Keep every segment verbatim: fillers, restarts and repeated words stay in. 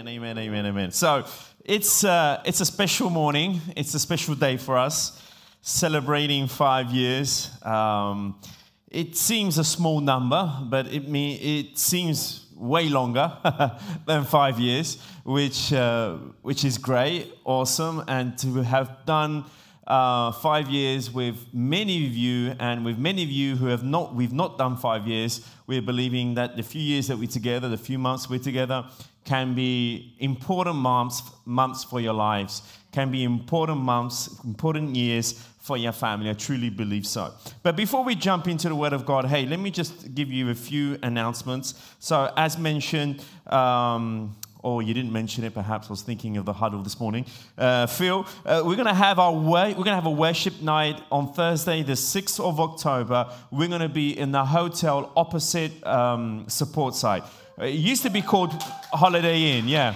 Amen, amen, amen, amen. So it's uh, it's a special morning. It's a special day for us, celebrating five years. Um, it seems a small number, but it me it seems way longer than five years, which uh, which is great, awesome, and to have done uh, five years with many of you, and with many of you who have not, we've not done five years. We're believing that the few years that we're together, the few months we're together, can be important months, months for your lives, can be important months, important years for your family. I truly believe so. But before we jump into the Word of God, hey, let me just give you a few announcements. So as mentioned, um, or you didn't mention it, perhaps I was thinking of the huddle this morning. Uh, Phil, uh, we're going to have our wor- we're going to have a worship night on Thursday, the sixth of October. We're going to be in the hotel opposite um, support site. It used to be called Holiday Inn, yeah.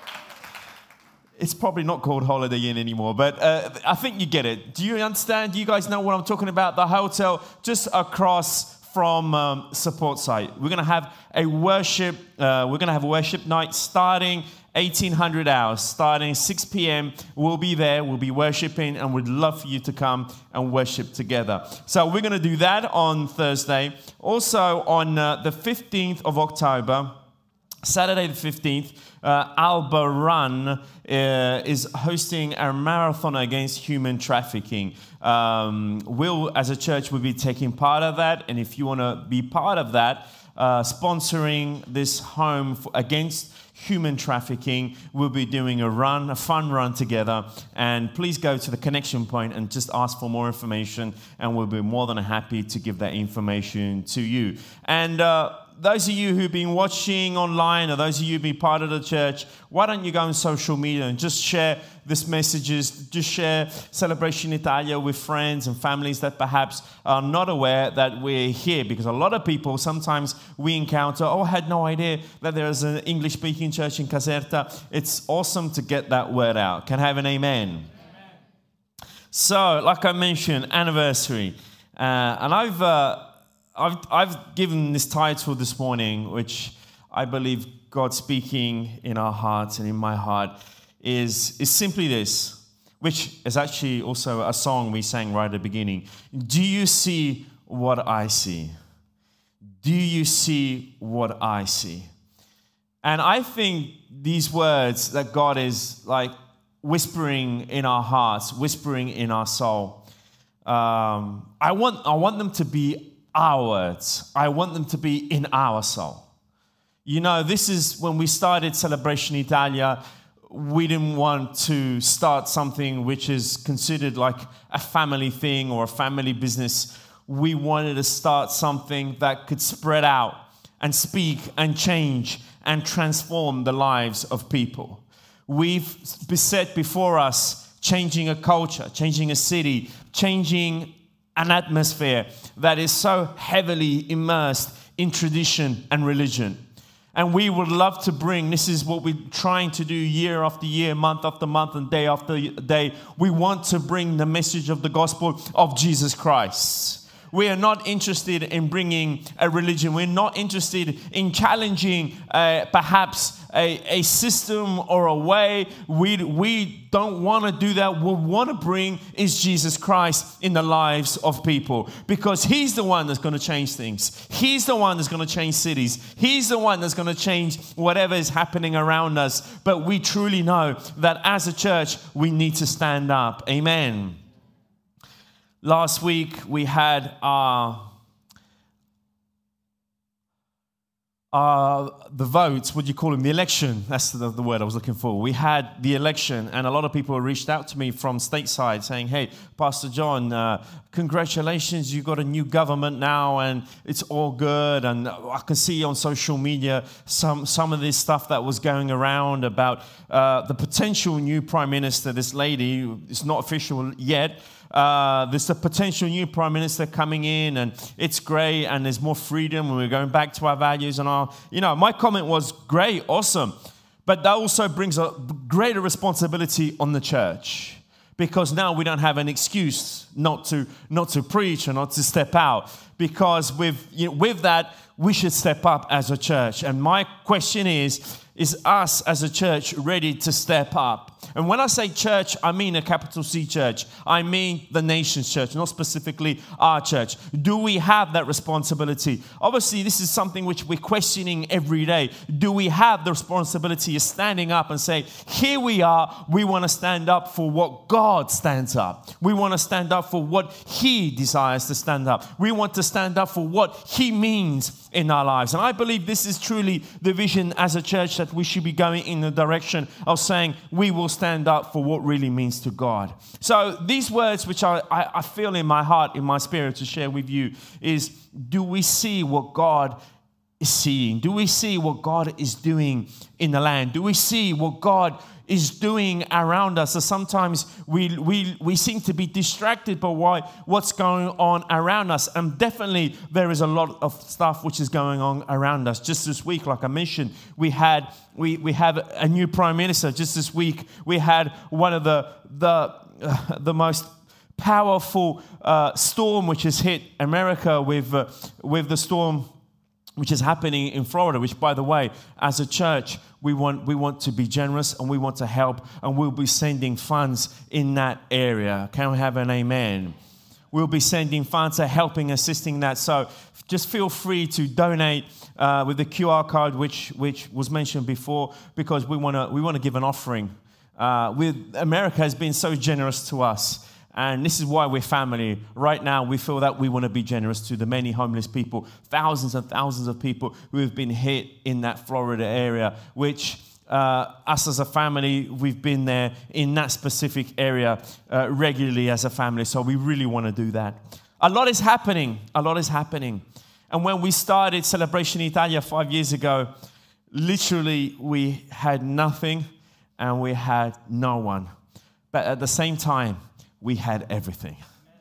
It's probably not called Holiday Inn anymore, but uh, I think you get it. Do you understand? Do you guys know what I'm talking about? The hotel just across from um, support site. We're going to have a worship. Uh, we're going to have a worship night starting eighteen hundred hours, starting six p.m. We'll be there. We'll be worshiping, and we'd love for you to come and worship together. So we're going to do that on Thursday. Also on uh, the fifteenth of October. Saturday the fifteenth, uh, Alba Run uh, is hosting a marathon against human trafficking. Um, we'll, as a church, will be taking part of that. And if you want to be part of that, uh, sponsoring this home for, against human trafficking, we'll be doing a run, a fun run together. And please go to the connection point and just ask for more information. And we'll be more than happy to give that information to you. And uh, those of you who've been watching online, or those of you who've been part of the church, why don't you go on social media and just share this messages, just share Celebration Italia with friends and families that perhaps are not aware that we're here. Because a lot of people, sometimes we encounter, oh, I had no idea that there's an English-speaking church in Caserta. It's awesome to get that word out. Can I have an amen? Amen. So, like I mentioned, anniversary. Uh, and I've... Uh, I've, I've given this title this morning, which I believe God speaking in our hearts and in my heart is, is simply this, which is actually also a song we sang right at the beginning. Do you see what I see? Do you see what I see? And I think these words that God is like whispering in our hearts, whispering in our soul, um, I want I want them to be our words. I want them to be in our soul. You know, this is when we started Celebration Italia, we didn't want to start something which is considered like a family thing or a family business. We wanted to start something that could spread out and speak and change and transform the lives of people. We've set before us changing a culture, changing a city, changing an atmosphere that is so heavily immersed in tradition and religion. And we would love to bring, this is what we're trying to do year after year, month after month, and day after day. We want to bring the message of the gospel of Jesus Christ. We are not interested in bringing a religion. We're not interested in challenging uh, perhaps a, a system or a way. We, we don't want to do that. What we want to bring is Jesus Christ in the lives of people, because He's the one that's going to change things. He's the one that's going to change cities. He's the one that's going to change whatever is happening around us. But we truly know that as a church, we need to stand up. Amen. Last week, we had our, our, the votes, what do you call them, the election. That's the, the word I was looking for. We had the election, and a lot of people reached out to me from stateside saying, hey, Pastor John, uh, congratulations, you got a new government now, and it's all good. And I can see on social media some, some of this stuff that was going around about uh, the potential new prime minister, this lady. It's not official yet. Uh, there's a potential new prime minister coming in, and it's great, and there's more freedom, and we're going back to our values and our, you know, my comment was great, awesome, but that also brings a greater responsibility on the church, because now we don't have an excuse not to not to preach or not to step out, because with you know, with that we should step up as a church. And my question is, is us as a church ready to step up? And when I say church, I mean a capital C church. I mean the nation's church, not specifically our church. Do we have that responsibility? Obviously, this is something which we're questioning every day. Do we have the responsibility of standing up and say, here we are, we want to stand up for what God stands up. We want to stand up for what He desires to stand up. We want to stand up for what He means in our lives. And I believe this is truly the vision as a church, that we should be going in the direction of saying we will stand up for what really means to God. So these words which I, I, I feel in my heart, in my spirit to share with you is, do we see what God is seeing? Do we see what God is doing in the land? Do we see what God is doing around us? So sometimes we we we seem to be distracted by why, what's going on around us. And definitely there is a lot of stuff which is going on around us. Just this week, like I mentioned, we had we we have a new prime minister. Just this week, we had one of the the uh, the most powerful uh, storm which has hit America with uh, with the storm which is happening in Florida, which, by the way, as a church, we want we want to be generous and we want to help, and we'll be sending funds in that area. Can we have an amen? We'll be sending funds, uh, helping, assisting that. So just feel free to donate uh, with the Q R code, which which was mentioned before, because we want to we want to give an offering. Uh, with America has been so generous to us. And this is why we're family. Right now, we feel that we want to be generous to the many homeless people, thousands and thousands of people who have been hit in that Florida area, which uh, us as a family, we've been there in that specific area uh, regularly as a family. So we really want to do that. A lot is happening. A lot is happening. And when we started Celebration Italia five years ago, literally we had nothing and we had no one. But at the same time, we had everything.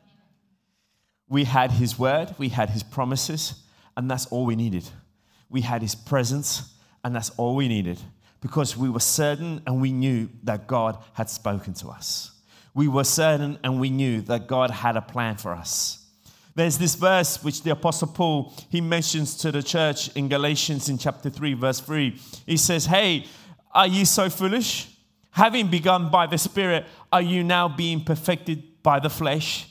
We had His word, we had His promises, and that's all we needed. We had His presence, and that's all we needed, because we were certain and we knew that God had spoken to us. We were certain and we knew that God had a plan for us. There's this verse which the Apostle Paul, he mentions to the church in Galatians in chapter three, verse three. He says, hey, are you so foolish? Having begun by the Spirit, are you now being perfected by the flesh?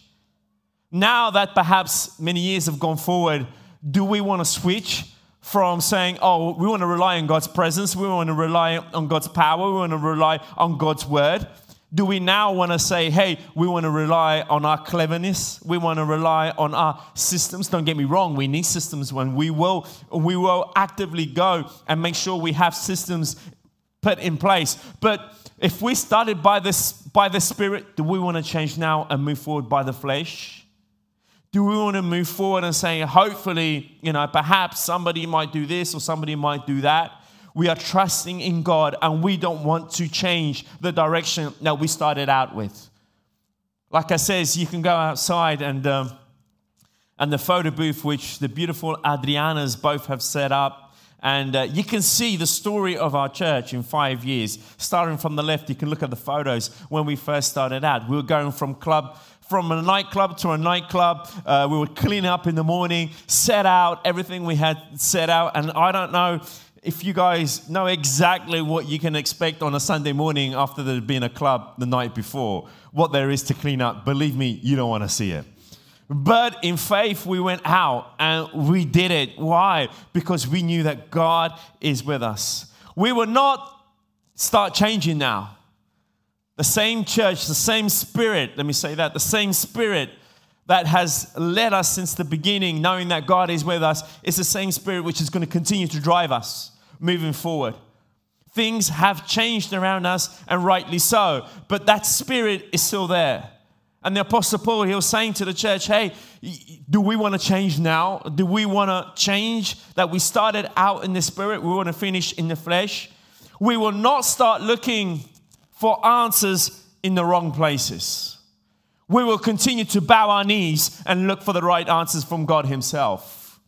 Now that perhaps many years have gone forward, do we want to switch from saying, oh, we want to rely on God's presence, we want to rely on God's power, we want to rely on God's word? Do we now want to say, hey, we want to rely on our cleverness, we want to rely on our systems? Don't get me wrong, we need systems when we will, we will actively go and make sure we have systems put in place. But if we started by this by the Spirit, do we want to change now and move forward by the flesh? Do we want to move forward and say, hopefully, you know, perhaps somebody might do this or somebody might do that? We are trusting in God and we don't want to change the direction that we started out with. Like I says, you can go outside and um, and the photo booth, which the beautiful Adrianas both have set up. And uh, you can see the story of our church in five years. Starting from the left, you can look at the photos when we first started out. We were going from club, from a nightclub to a nightclub. Uh, we would clean up in the morning, set out everything we had set out. And I don't know if you guys know exactly what you can expect on a Sunday morning after there had been a club the night before. What there is to clean up, believe me, you don't want to see it. But in faith, we went out and we did it. Why? Because we knew that God is with us. We will not start changing now. The same church, the same Spirit, let me say that, the same Spirit that has led us since the beginning, knowing that God is with us, is the same Spirit which is going to continue to drive us moving forward. Things have changed around us, and rightly so, but that Spirit is still there. And the Apostle Paul, he was saying to the church, hey, do we want to change now? Do we want to change that we started out in the Spirit? We want to finish in the flesh? We will not start looking for answers in the wrong places. We will continue to bow our knees and look for the right answers from God Himself.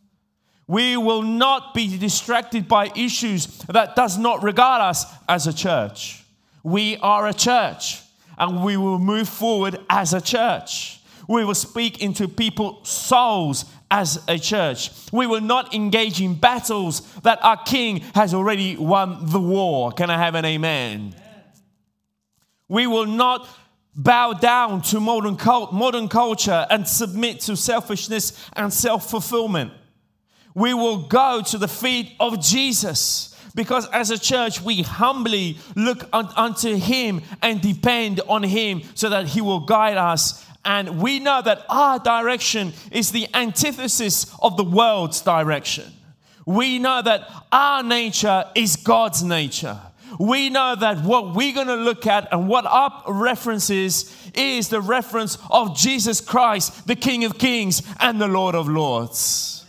We will not be distracted by issues that does not regard us as a church. We are a church. And we will move forward as a church. We will speak into people's souls as a church. We will not engage in battles that our King has already won the war. Can I have an amen? Amen. We will not bow down to modern cult, modern culture and submit to selfishness and self-fulfillment. We will go to the feet of Jesus, because as a church we humbly look un- unto Him and depend on Him so that He will guide us. And we know that our direction is the antithesis of the world's direction. We know that our nature is God's nature. We know that what we're going to look at and what our reference is, is the reference of Jesus Christ, the King of Kings and the Lord of Lords.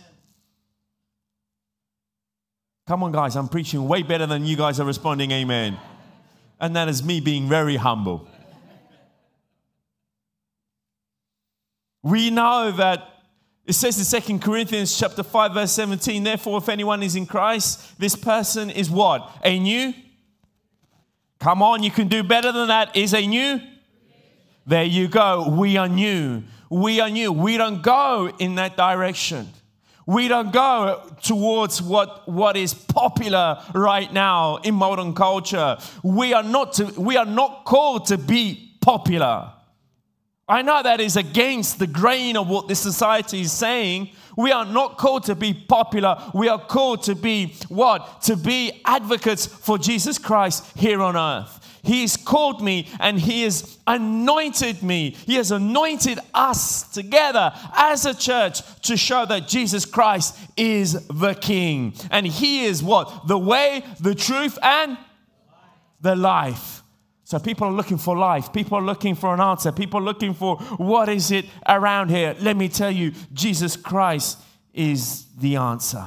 Come on, guys, I'm preaching way better than you guys are responding, amen. And that is me being very humble. We know that it says in Second Corinthians chapter five, verse seventeen, therefore, if anyone is in Christ, this person is what? A new? Come on, you can do better than that. Is a new? There you go. We are new. We are new. We don't go in that direction. We don't go towards what, what is popular right now in modern culture. We are not to, we are not called to be popular. I know that is against the grain of what this society is saying. We are not called to be popular. We are called to be what? To be advocates for Jesus Christ here on earth. He has called me and He has anointed me. He has anointed us together as a church to show that Jesus Christ is the King. And He is what? The way, the truth, and the life. So people are looking for life. People are looking for an answer. People are looking for what is it around here. Let me tell you, Jesus Christ is the answer.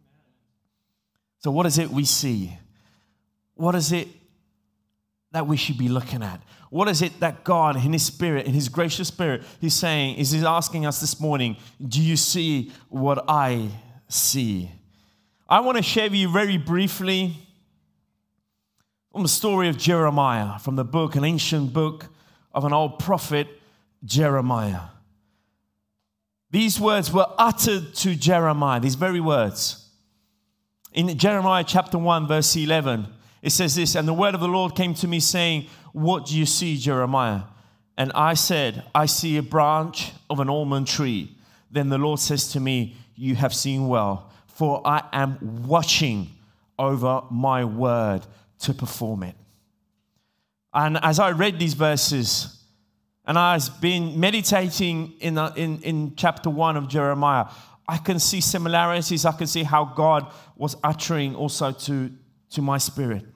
So what is it we see? What is it that we should be looking at? What is it that God in His Spirit, in His gracious Spirit, He's saying, is He's asking us this morning, do you see what I see? I want to share with you very briefly from the story of Jeremiah, from the book, an ancient book of an old prophet, Jeremiah. These words were uttered to Jeremiah, these very words. In Jeremiah chapter one, verse eleven, it says this, and the word of the Lord came to me saying, what do you see, Jeremiah? And I said, I see a branch of an almond tree. Then the Lord says to me, you have seen well, for I am watching over my word to perform it. And as I read these verses, and I've been meditating in, in, in chapter one of Jeremiah, I can see similarities. I can see how God was uttering also to, to my spirit.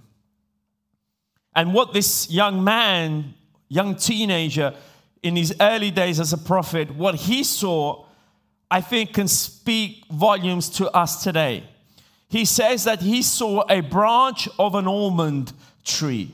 And what this young man, young teenager, in his early days as a prophet, what he saw, I think can speak volumes to us today. He says that he saw a branch of an almond tree.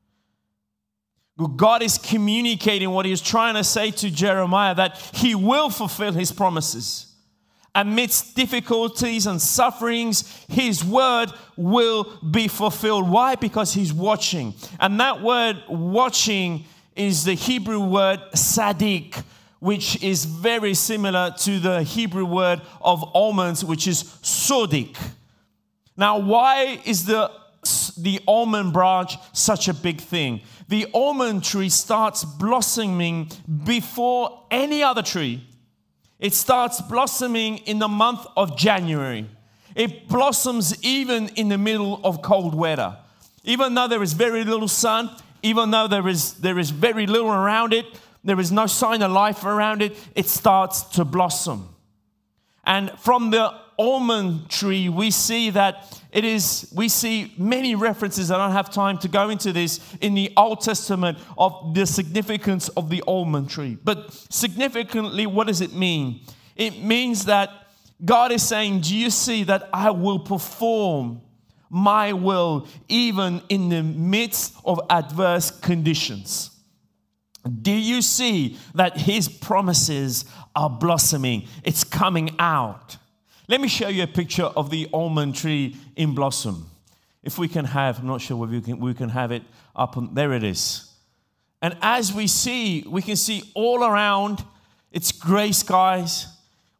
God is communicating what He's trying to say to Jeremiah, that He will fulfill His promises. Amidst difficulties and sufferings, His word will be fulfilled. Why? Because He's watching. And that word watching is the Hebrew word sadiq, which is very similar to the Hebrew word of almonds, which is sodik. Now, why is the, the almond branch such a big thing? The almond tree starts blossoming before any other tree. It starts blossoming in the month of January. It blossoms even in the middle of cold weather. Even though there is very little sun, even though there is, there is very little around it, there is no sign of life around it, it starts to blossom. And from the almond tree, we see that it is, we see many references, I don't have time to go into this, in the Old Testament of the significance of the almond tree. But significantly, what does it mean? It means that God is saying, do you see that I will perform my will even in the midst of adverse conditions? Do you see that His promises are blossoming? It's coming out. Let me show you a picture of the almond tree in blossom. If we can have, I'm not sure whether we can, we can have it up. On, there it is. And as we see, we can see all around, it's gray skies.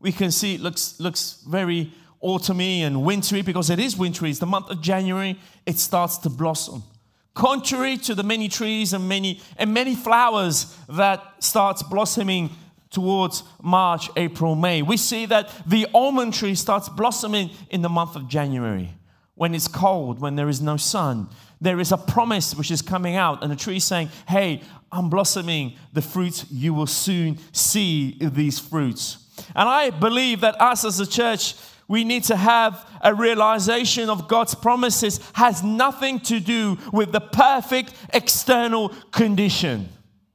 We can see it looks, looks very autumny and wintry because it is wintry. It's the month of January. It starts to blossom. Contrary to the many trees and many and many flowers that starts blossoming towards March, April, May. We see that the almond tree starts blossoming in the month of January when it's cold, when there is no sun. There is a promise which is coming out, and the tree is saying, hey, I'm blossoming the fruits. You will soon see these fruits. And I believe that us as a church, we need to have a realization of God's promises has nothing to do with the perfect external condition.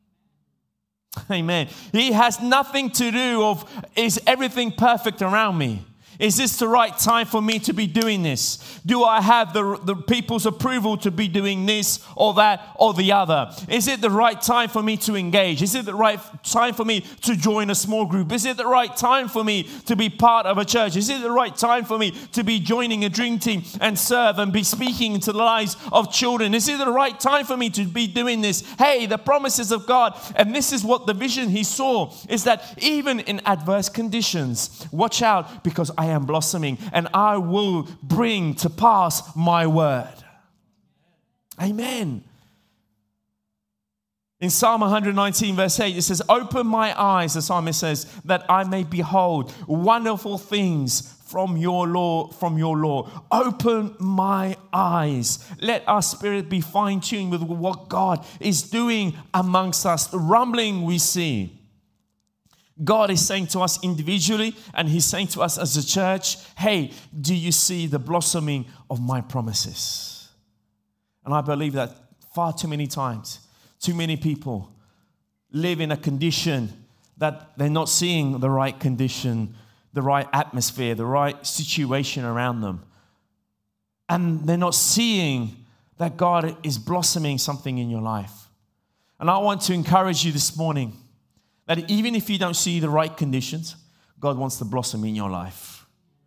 Amen. He has nothing to do of, is everything perfect around me? Is this the right time for me to be doing this? Do I have the, the people's approval to be doing this or that or the other? Is it the right time for me to engage? Is it the right time for me to join a small group? Is it the right time for me to be part of a church? Is it the right time for me to be joining a dream team and serve and be speaking into the lives of children? Is it the right time for me to be doing this? Hey, the promises of God, and this is what the vision he saw, is that even in adverse conditions, watch out, because I am blossoming and I will bring to pass my word. Amen. In Psalm one nineteen verse eight, it says, open my eyes, the psalmist says, that I may behold wonderful things from your law, from your law. Open my eyes. Let our spirit be fine-tuned with what God is doing amongst us. The rumbling we see. God is saying to us individually, and he's saying to us as a church, hey, do you see the blossoming of my promises? And I believe that far too many times, too many people live in a condition that they're not seeing the right condition, the right atmosphere, the right situation around them. And they're not seeing that God is blossoming something in your life. And I want to encourage you this morning that even if you don't see the right conditions, God wants to blossom in your life.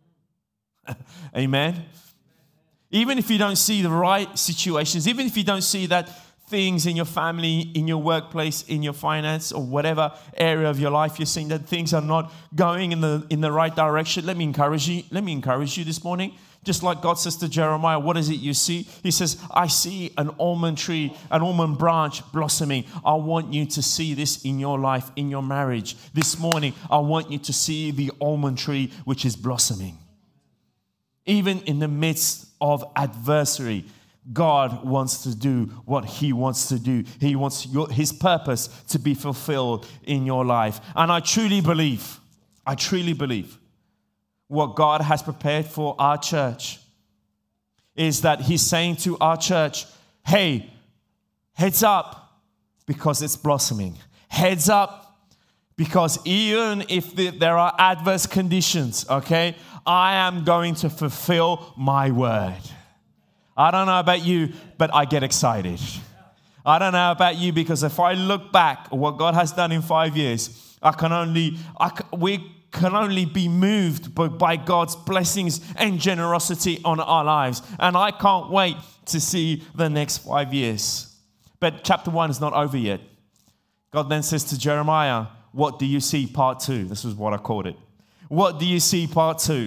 Amen? Even if you don't see the right situations, even if you don't see that things in your family, in your workplace, in your finance, or whatever area of your life you're seeing that things are not going in the in the right direction, let me encourage you. Let me encourage you this morning. Just like God says to Jeremiah, what is it you see? He says, I see an almond tree, an almond branch blossoming. I want you to see this in your life, in your marriage. This morning, I want you to see the almond tree which is blossoming. Even in the midst of adversity, God wants to do what he wants to do. He wants your, his purpose to be fulfilled in your life. And I truly believe, I truly believe, what God has prepared for our church is that he's saying to our church, hey, heads up because it's blossoming. Heads up because even if the, there are adverse conditions, okay, I am going to fulfill my word. I don't know about you, but I get excited. I don't know about you, because if I look back at what God has done in five years, I can only, I can, we can only be moved by, by God's blessings and generosity on our lives. And I can't wait to see the next five years. But chapter one is not over yet. God then says to Jeremiah, what do you see? Part two. This is what I called it. What do you see? Part two.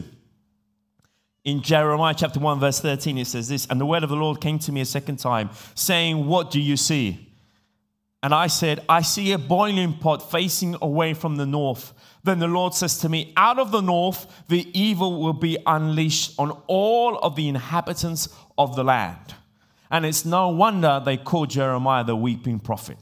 In Jeremiah chapter one, verse thirteen, it says this, and the word of the Lord came to me a second time, saying, what do you see? And I said, I see a boiling pot facing away from the north. Then the Lord says to me, out of the north, the evil will be unleashed on all of the inhabitants of the land. And it's no wonder they called Jeremiah the weeping prophet.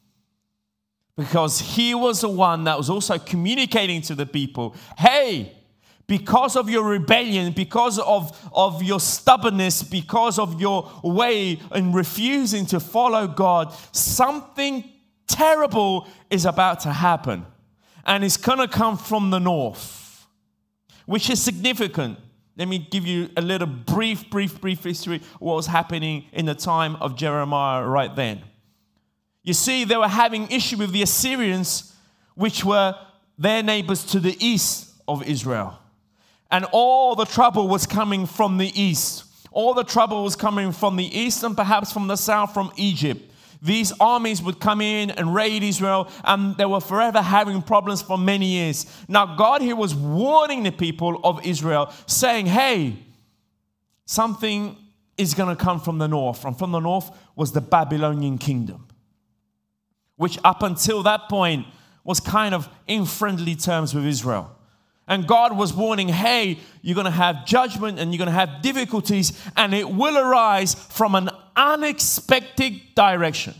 Because he was the one that was also communicating to the people, hey, because of your rebellion, because of, of your stubbornness, because of your way in refusing to follow God, something terrible is about to happen. And it's going to come from the north, which is significant. Let me give you a little brief, brief, brief history of what was happening in the time of Jeremiah right then. You see, they were having issue with the Assyrians, which were their neighbors to the east of Israel. And all the trouble was coming from the east. All the trouble was coming from the east and perhaps from the south, from Egypt. These armies would come in and raid Israel, and they were forever having problems for many years. Now, God here was warning the people of Israel, saying, hey, something is going to come from the north. And from the north was the Babylonian kingdom, which up until that point was kind of in friendly terms with Israel. And God was warning, hey, you're going to have judgment and you're going to have difficulties, and it will arise from an unexpected direction.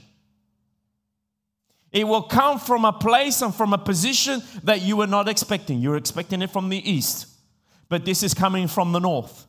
It will come from a place and from a position that you were not expecting. You're expecting it from the east, but this is coming from the north.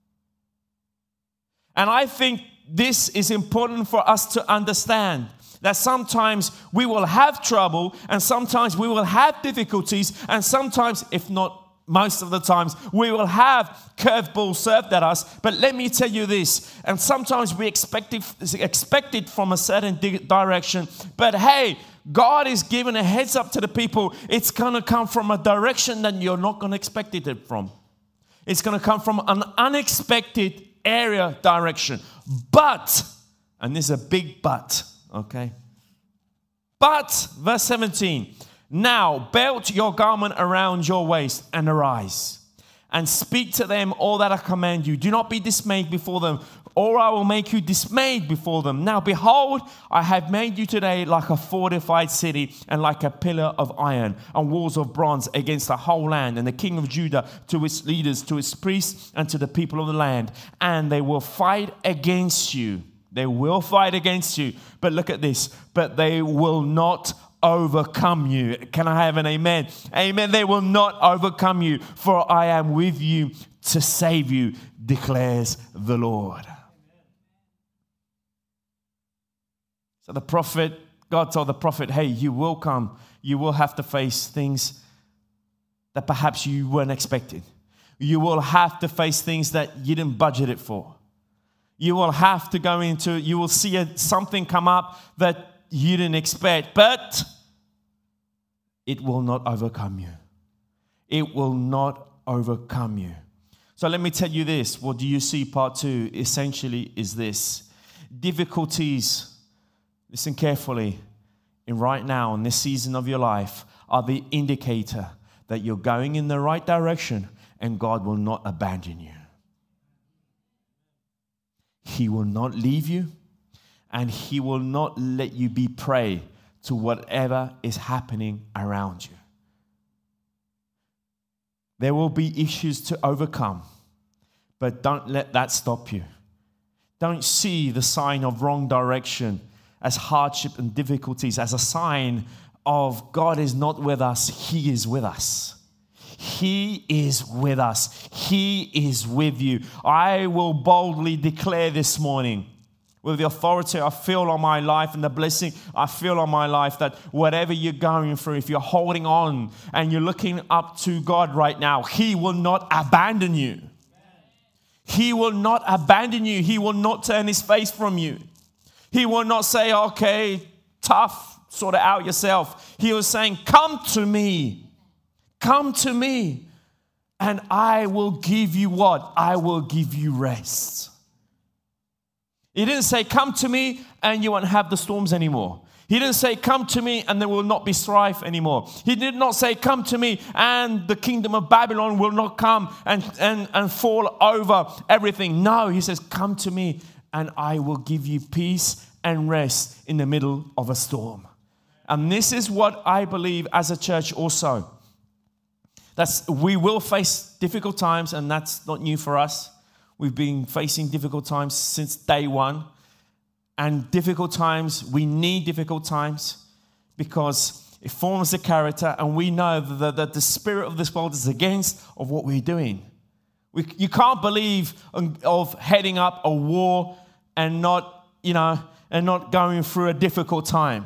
And I think this is important for us to understand, that sometimes we will have trouble, and sometimes we will have difficulties, and sometimes, if not most of the times, we will have curveballs served at us. But let me tell you this, and sometimes we expect it, expect it from a certain di- direction, but hey, God is giving a heads up to the people. It's going to come from a direction that you're not going to expect it from. It's going to come from an unexpected area direction. But, and this is a big but, okay? But, verse seventeen, now belt your garment around your waist and arise and speak to them all that I command you. Do not be dismayed before them, or I will make you dismayed before them. Now behold, I have made you today like a fortified city and like a pillar of iron and walls of bronze against the whole land, and the king of Judah to its leaders, to its priests, and to the people of the land. And they will fight against you. They will fight against you. But look at this. But they will not overcome you. Can I have an amen? Amen. They will not overcome you, for I am with you to save you, declares the Lord. So the prophet, God told the prophet, hey, you will come. You will have to face things that perhaps you weren't expecting. You will have to face things that you didn't budget it for. You will have to go into, you will see a, something come up that you didn't expect, but it will not overcome you. It will not overcome you. So let me tell you this. What do you see? Part two essentially is this. Difficulties, listen carefully, in right now, in this season of your life, are the indicator that you're going in the right direction and God will not abandon you. He will not leave you, and He will not let you be prey to whatever is happening around you. There will be issues to overcome, but don't let that stop you. Don't see the sign of wrong direction as hardship and difficulties as a sign of God is not with us, He is with us. He is with us. He is with you. I will boldly declare this morning, with the authority I feel on my life and the blessing I feel on my life, that whatever you're going through, if you're holding on and you're looking up to God right now, He will not abandon you. He will not abandon you. He will not turn His face from you. He will not say, okay, tough, sort it out yourself. He was saying, come to me. Come to me, and I will give you what? I will give you rest. He didn't say, come to me and you won't have the storms anymore. He didn't say, come to me and there will not be strife anymore. He did not say, come to me and the kingdom of Babylon will not come and, and, and fall over everything. No, He says, come to me and I will give you peace and rest in the middle of a storm. And this is what I believe as a church also. That's, we will face difficult times, and that's not new for us. We've been facing difficult times since day one. And difficult times, we need difficult times because it forms the character, and we know that, that the spirit of this world is against of what we're doing. We, you can't believe of heading up a war and not, you know, and not going through a difficult time.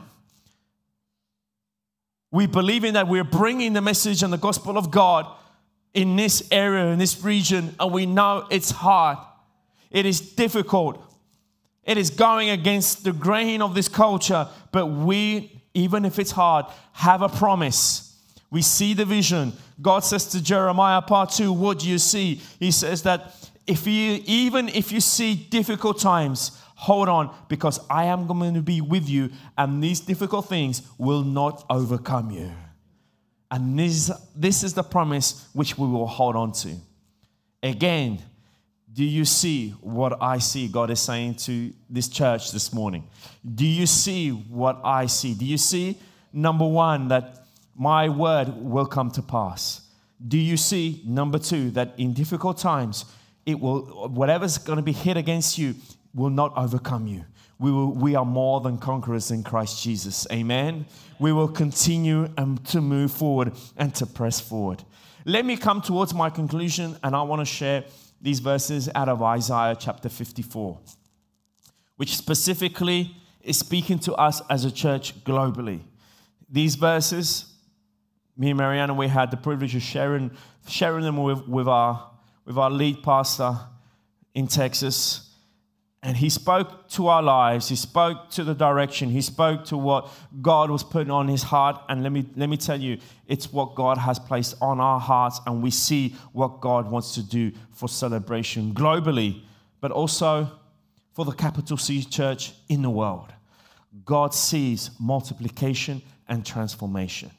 We believe in that we're bringing the message and the gospel of God in this area, in this region, and we know it's hard. It is difficult. It is going against the grain of this culture, but we, even if it's hard, have a promise. We see the vision. God says to Jeremiah, part two, what do you see? He says that if you, even if you see difficult times, hold on, because I am going to be with you, and these difficult things will not overcome you. And this, this is the promise which we will hold on to. Again, do you see what I see God is saying to this church this morning? Do you see what I see? Do you see, number one, that my word will come to pass? Do you see, number two, that in difficult times, it will, whatever's going to be hit against you will not overcome you? We will, we are more than conquerors in Christ Jesus. Amen. We will continue and to move forward and to press forward. Let me come towards my conclusion, and I want to share these verses out of Isaiah chapter fifty-four, which specifically is speaking to us as a church globally. These verses, me and Mariana, we had the privilege of sharing, sharing them with, with, our, with our lead pastor in Texas. And he spoke to our lives. He spoke to the direction. He spoke to what God was putting on his heart. And let me, let me tell you, it's what God has placed on our hearts. And we see what God wants to do for Celebration globally, but also for the capital C church in the world. God sees multiplication and transformation.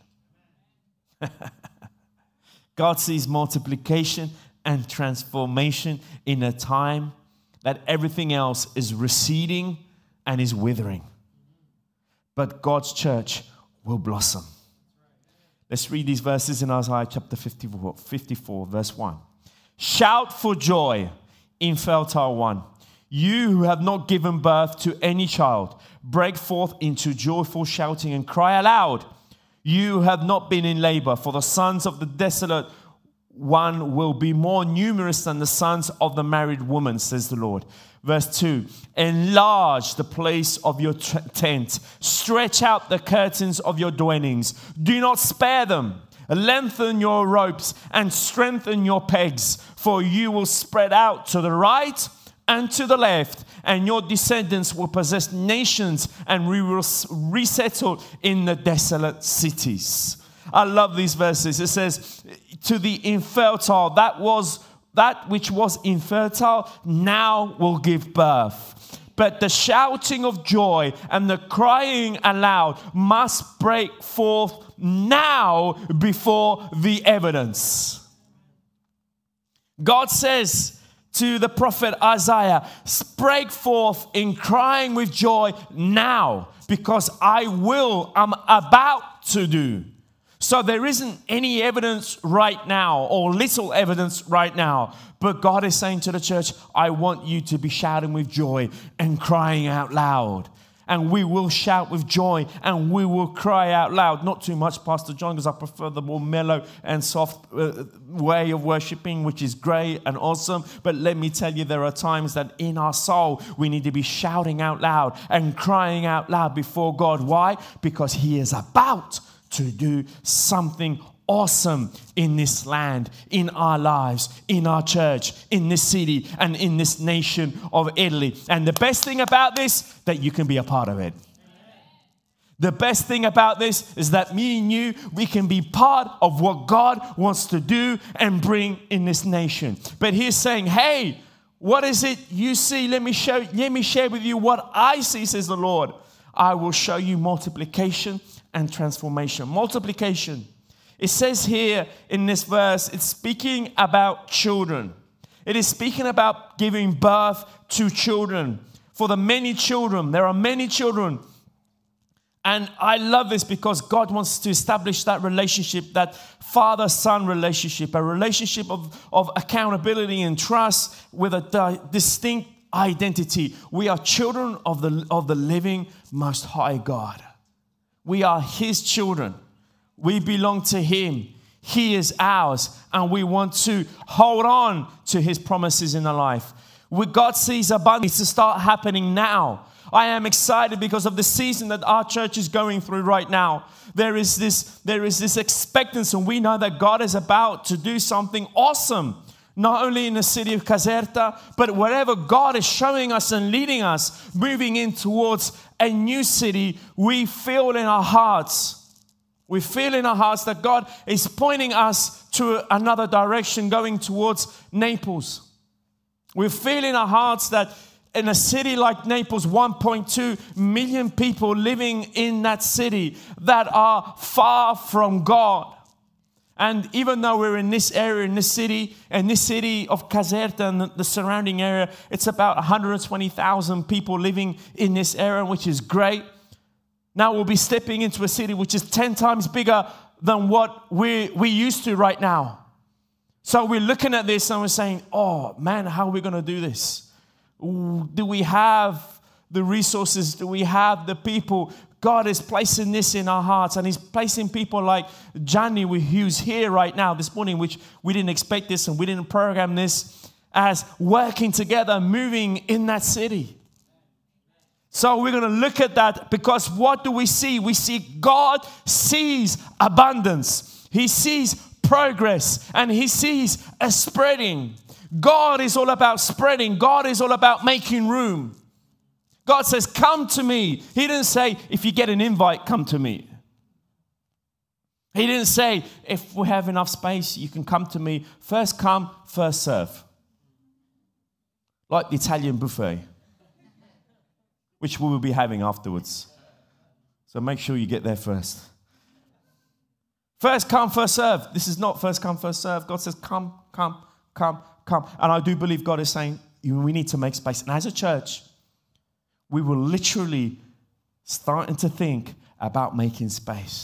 God sees multiplication and transformation in a time that everything else is receding and is withering. But God's church will blossom. Let's read these verses in Isaiah chapter fifty-four, fifty-four, verse one. Shout for joy, infertile one, you who have not given birth to any child. Break forth into joyful shouting and cry aloud, you who have not been in labor, for the sons of the desolate one will be more numerous than the sons of the married woman, says the Lord. Verse two, enlarge the place of your t- tent. Stretch out the curtains of your dwellings. Do not spare them. Lengthen your ropes and strengthen your pegs, for you will spread out to the right and to the left, and your descendants will possess nations, and we will resettle in the desolate cities. I love these verses. It says, to the infertile, that was that which was infertile now will give birth. But the shouting of joy and the crying aloud must break forth now before the evidence. God says to the prophet Isaiah, break forth in crying with joy now, because I will, I'm about to do. So there isn't any evidence right now, or little evidence right now. But God is saying to the church, I want you to be shouting with joy and crying out loud. And we will shout with joy and we will cry out loud. Not too much, Pastor John, because I prefer the more mellow and soft uh, way of worshiping, which is great and awesome. But let me tell you, there are times that in our soul, we need to be shouting out loud and crying out loud before God. Why? Because He is about to do something awesome in this land, in our lives, in our church, in this city, and in this nation of Italy. And the best thing about this, that you can be a part of it. The best thing about this is that me and you, we can be part of what God wants to do and bring in this nation. But He's saying, hey, what is it you see? Let me show, let me share with you what I see, says the Lord. I will show you multiplication and transformation. Multiplication. It says here in this verse, it's speaking about children. It is speaking about giving birth to children. For the many children, there are many children. And I love this because God wants to establish that relationship, that father-son relationship, a relationship of, of accountability and trust with a di- distinct identity. We are children of the, of the living Most High God. We are His children. We belong to Him. He is ours. And we want to hold on to His promises in our life. What God sees abundance to start happening now. I am excited because of the season that our church is going through right now. There is this, there is this expectancy, and we know that God is about to do something awesome. Not only in the city of Caserta, but wherever God is showing us and leading us, moving in towards a new city, we feel in our hearts, we feel in our hearts that God is pointing us to another direction, going towards Naples. We feel in our hearts that in a city like Naples, one point two million people living in that city that are far from God. And even though we're in this area, in this city, and this city of Caserta and the surrounding area, it's about one hundred twenty thousand people living in this area, which is great. Now we'll be stepping into a city which is ten times bigger than what we, we're used to right now. So we're looking at this and we're saying, oh man, how are we going to do this? Do we have the resources? Do we have the people? God is placing this in our hearts, and He's placing people like Johnny, who's here right now this morning, which we didn't expect this and we didn't program this, as working together, moving in that city. So we're going to look at that, because what do we see? We see God sees abundance. He sees progress, and He sees a spreading. God is all about spreading. God is all about making room. God says, come to me. He didn't say, if you get an invite, come to me. He didn't say, if we have enough space, you can come to me. First come, first serve. Like the Italian buffet, which we will be having afterwards. So make sure you get there first. First come, first serve. This is not first come, first serve. God says, come, come, come, come. And I do believe God is saying, we need to make space. And as a church, we were literally starting to think about making space.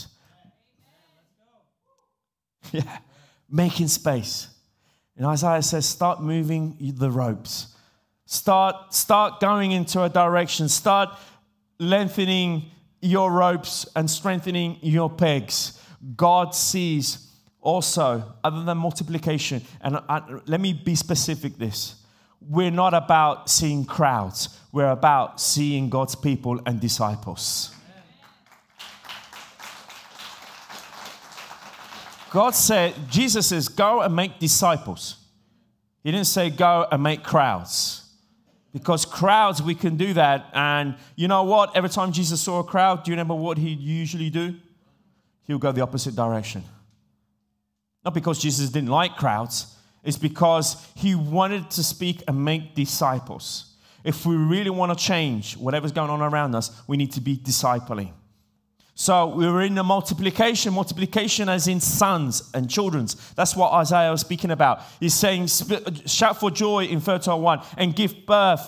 Yeah, making space. And Isaiah says, start moving the ropes. Start, start going into a direction. Start lengthening your ropes and strengthening your pegs. God sees also, other than multiplication, and I, let me be specific this. We're not about seeing crowds. We're about seeing God's people and disciples. God said, Jesus says, go and make disciples. He didn't say go and make crowds. Because crowds, we can do that. And you know what? Every time Jesus saw a crowd, do you remember what he'd usually do? He'll go the opposite direction. Not because Jesus didn't like crowds. It's because he wanted to speak and make disciples. If we really want to change whatever's going on around us, we need to be discipling. So we were in the multiplication, multiplication as in sons and children's. That's what Isaiah was speaking about. He's saying, shout for joy in fertile one and give birth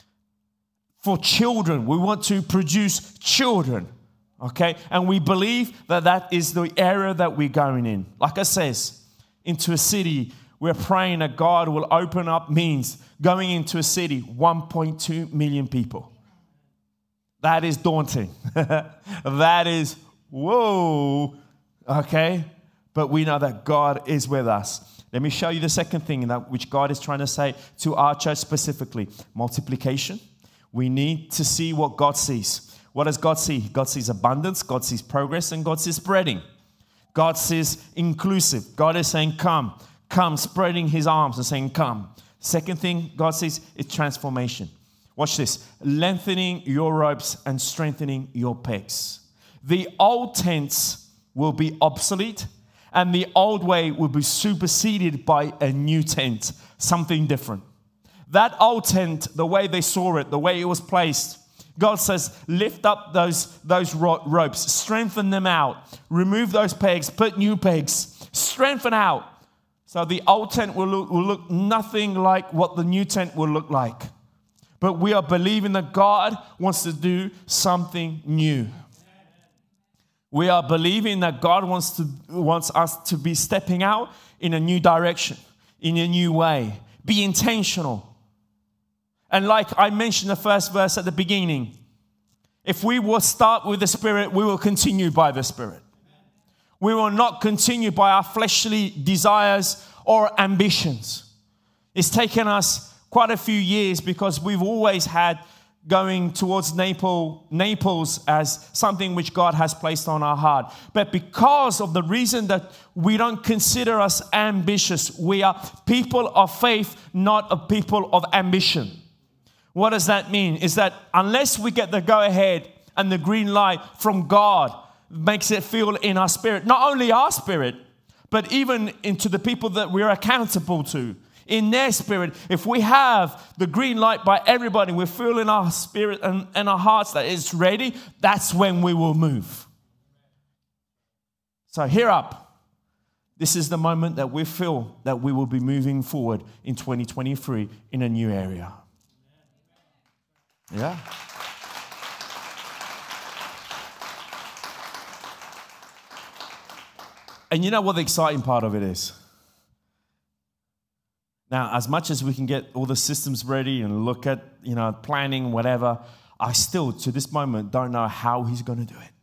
for children. We want to produce children, okay? And we believe that that is the area that we're going in. Like I says, into a city. We're praying that God will open up means going into a city, one point two million people. That is daunting. That is, whoa, okay? But we know that God is with us. Let me show you the second thing that which God is trying to say to our church specifically. Multiplication. We need to see what God sees. What does God see? God sees abundance, God sees progress, and God sees spreading. God sees inclusive. God is saying, come. Come, spreading his arms and saying, come. Second thing God says is transformation. Watch this. Lengthening your ropes and strengthening your pegs. The old tents will be obsolete, and the old way will be superseded by a new tent, something different. That old tent, the way they saw it, the way it was placed, God says, lift up those, those ro- ropes, strengthen them out, remove those pegs, put new pegs, strengthen out. So the old tent will look, will look nothing like what the new tent will look like. But we are believing that God wants to do something new. We are believing that God wants to wants us to be stepping out in a new direction, in a new way. Be intentional. And like I mentioned the first verse at the beginning, if we will start with the Spirit, we will continue by the Spirit. We will not continue by our fleshly desires or ambitions. It's taken us quite a few years because we've always had going towards Naples, Naples as something which God has placed on our heart. But because of the reason that we don't consider us ambitious, we are people of faith, not a people of ambition. What does that mean? Is that unless we get the go-ahead and the green light from God, makes it feel in our spirit, not only our spirit, but even into the people that we're accountable to, in their spirit, if we have the green light by everybody, we feel in our spirit and, and our hearts that it's ready, that's when we will move. So hear up. This is the moment that we feel that we will be moving forward in twenty twenty-three in a new area. Yeah. And you know what the exciting part of it is? Now, as much as we can get all the systems ready and look at, you know, planning, whatever, I still, to this moment, don't know how he's going to do it.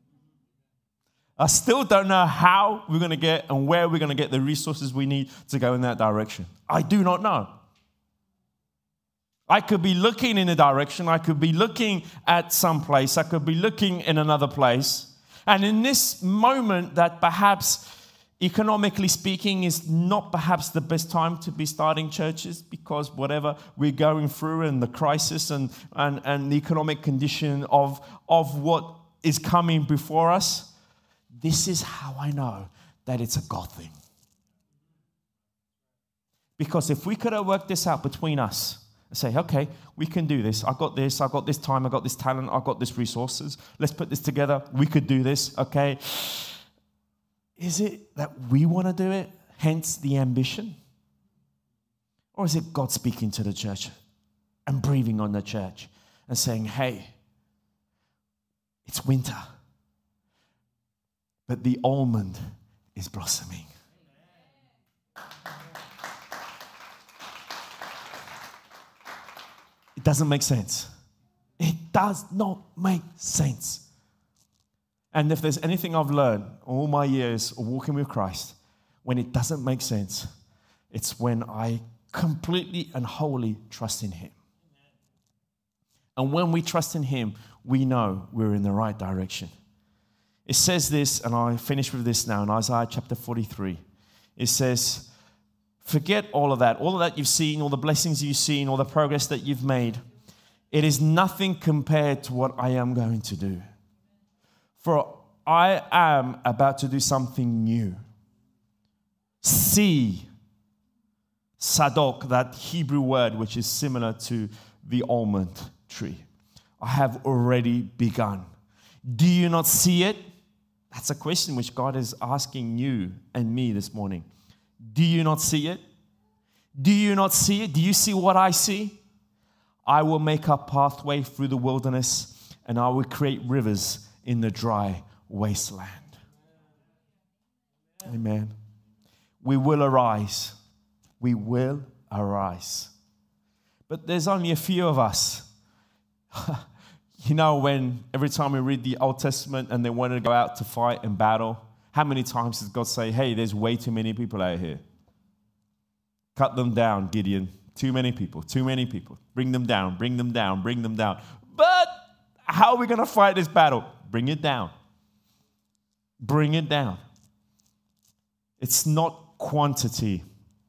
I still don't know how we're going to get and where we're going to get the resources we need to go in that direction. I do not know. I could be looking in a direction. I could be looking at some place. I could be looking in another place. And in this moment that perhaps, economically speaking, is not perhaps the best time to be starting churches, because whatever we're going through and the crisis and, and, and the economic condition of, of what is coming before us, this is how I know that it's a God thing. Because if we could have worked this out between us and say, okay, we can do this. I got this. I got this time. I got this talent. I got this resources. Let's put this together. We could do this. Okay. Is it that we want to do it, hence the ambition? Or is it God speaking to the church and breathing on the church and saying, hey, it's winter, but the almond is blossoming. It doesn't make sense. It does not make sense. And if there's anything I've learned all my years of walking with Christ, when it doesn't make sense, it's when I completely and wholly trust in Him. And when we trust in Him, we know we're in the right direction. It says this, and I finish with this now, in Isaiah chapter forty-three. It says, forget all of that, all of that you've seen, all the blessings you've seen, all the progress that you've made. It is nothing compared to what I am going to do. For I am about to do something new. See, sadok, that Hebrew word which is similar to the almond tree. I have already begun. Do you not see it? That's a question which God is asking you and me this morning. Do you not see it? Do you not see it? Do you see what I see? I will make a pathway through the wilderness, and I will create rivers in the dry wasteland. Amen. We will arise. We will arise. But there's only a few of us. You know, when every time we read the Old Testament and they want to go out to fight and battle, how many times does God say, hey, there's way too many people out here? Cut them down, Gideon. Too many people, too many people. Bring them down, bring them down, bring them down. But how are we going to fight this battle? Bring it down. Bring it down. It's not quantity.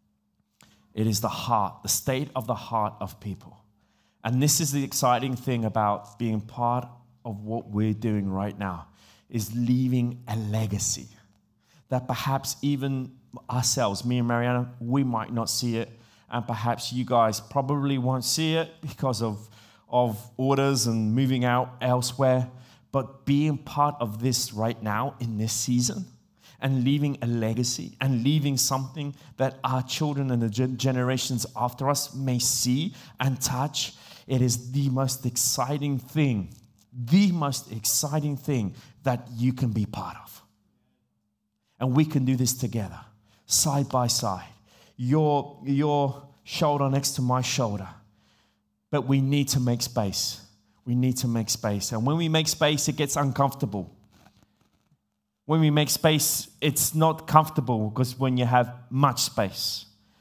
It is the heart, the state of the heart of people. And this is the exciting thing about being part of what we're doing right now, is leaving a legacy that perhaps even ourselves, me and Mariana, we might not see it. And perhaps you guys probably won't see it because of, of orders and moving out elsewhere. But being part of this right now in this season and leaving a legacy and leaving something that our children and the generations after us may see and touch, it is the most exciting thing, the most exciting thing that you can be part of. And we can do this together, side by side. Your, your shoulder next to my shoulder. But we need to make space. We need to make space. And when we make space, it gets uncomfortable. When we make space, it's not comfortable because when you have much space.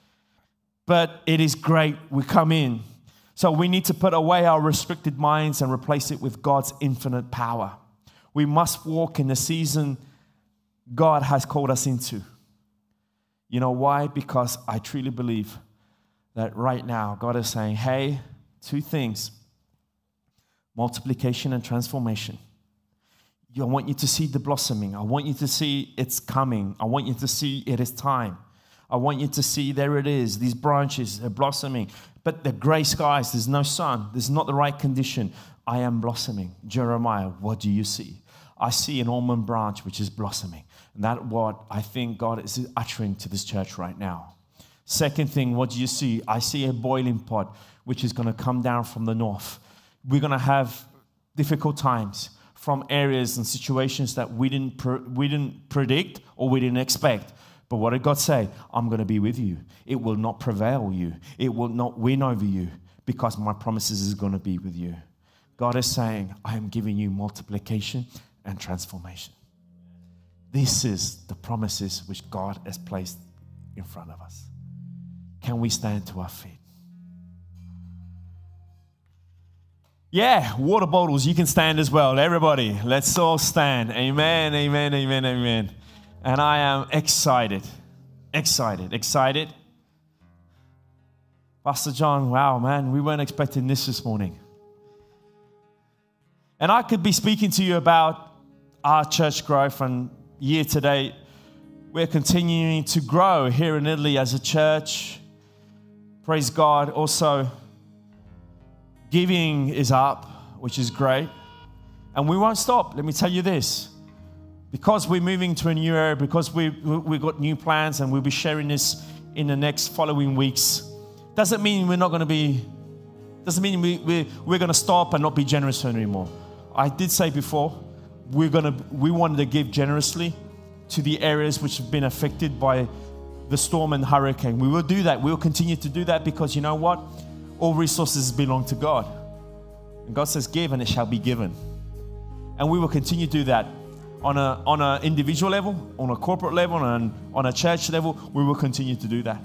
But it is great. We come in. So we need to put away our restricted minds and replace it with God's infinite power. We must walk in the season God has called us into. You know why? Because I truly believe that right now God is saying, hey, two things. Multiplication and transformation. I want you to see the blossoming. I want you to see it's coming. I want you to see it is time. I want you to see, there it is. These branches are blossoming. But the gray skies, there's no sun. There's not the right condition. I am blossoming. Jeremiah, what do you see? I see an almond branch which is blossoming. And that's what I think God is uttering to this church right now. Second thing, what do you see? I see a boiling pot which is going to come down from the north. We're going to have difficult times from areas and situations that we didn't pre- we didn't predict or we didn't expect. But what did God say? I'm going to be with you. It will not prevail you. It will not win over you because my promises is going to be with you. God is saying, I am giving you multiplication and transformation. This is the promises which God has placed in front of us. Can we stand to our feet? Yeah, water bottles, you can stand as well. Everybody, let's all stand. Amen, amen, amen, amen. And I am excited, excited, excited. Pastor John, wow, man, we weren't expecting this this morning. And I could be speaking to you about our church growth, and year to date, we're continuing to grow here in Italy as a church. Praise God. Also, giving is up, which is great. And we won't stop. Let me tell you this. Because we're moving to a new area, because we, we've got new plans, and we'll be sharing this in the next following weeks, doesn't mean we're not going to be, doesn't mean we, we, we're going to stop and not be generous anymore. I did say before, we're going to, we wanted to give generously to the areas which have been affected by the storm and hurricane. We will do that. We will continue to do that because you know what? All resources belong to God. And God says, give and it shall be given. And we will continue to do that on a on an individual level, on a corporate level, and on a church level. We will continue to do that.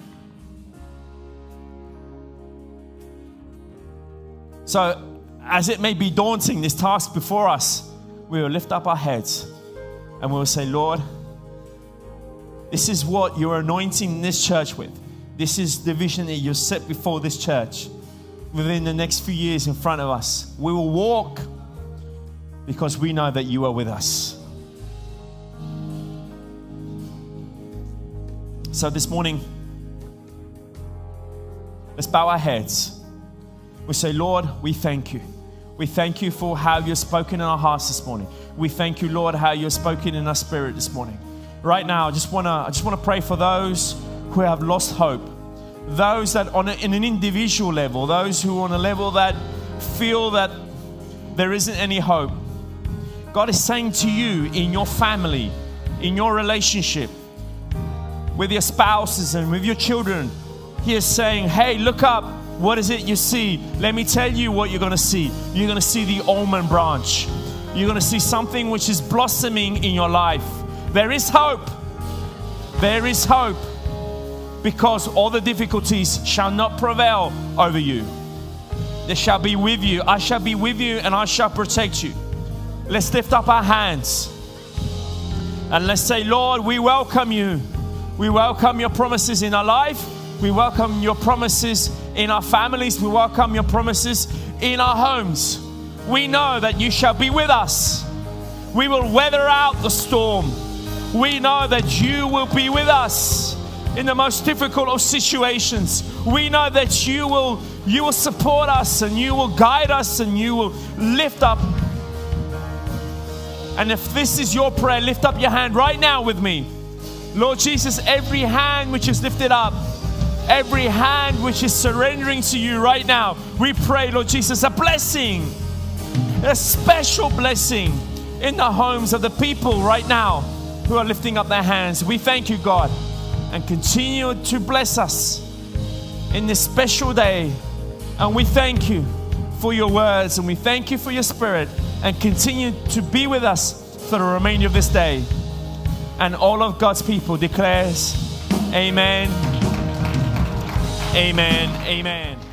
So, as it may be daunting, this task before us, we will lift up our heads and we will say, Lord, this is what you're anointing this church with. This is the vision that you've set before this church. Within the next few years in front of us, we will walk because we know that you are with us. So this morning, let's bow our heads. We say, Lord, we thank you. We thank you for how you've spoken in our hearts this morning. We thank you, Lord, how you've spoken in our spirit this morning. Right now, I just want to I just want to pray for those who have lost hope. Those that on a, in an individual level, those who are on a level that feel that there isn't any hope. God is saying to you in your family, in your relationship, with your spouses and with your children, He is saying, hey, look up. What is it you see? Let me tell you what you're going to see. You're going to see the almond branch. You're going to see something which is blossoming in your life. There is hope. There is hope. Because all the difficulties shall not prevail over you. They shall be with you. I shall be with you and I shall protect you. Let's lift up our hands. And let's say, Lord, we welcome you. We welcome your promises in our life. We welcome your promises in our families. We welcome your promises in our homes. We know that you shall be with us. We will weather out the storm. We know that you will be with us in the most difficult of situations. We know that you will, you will support us and you will guide us and you will lift up. And if this is your prayer, lift up your hand right now with me. Lord Jesus, every hand which is lifted up, every hand which is surrendering to you right now, we pray, Lord Jesus, a blessing, a special blessing in the homes of the people right now who are lifting up their hands. We thank you, God, and continue to bless us in this special day. And we thank you for your words, and we thank you for your spirit, and continue to be with us for the remainder of this day. And all of God's people declares, amen, amen, amen.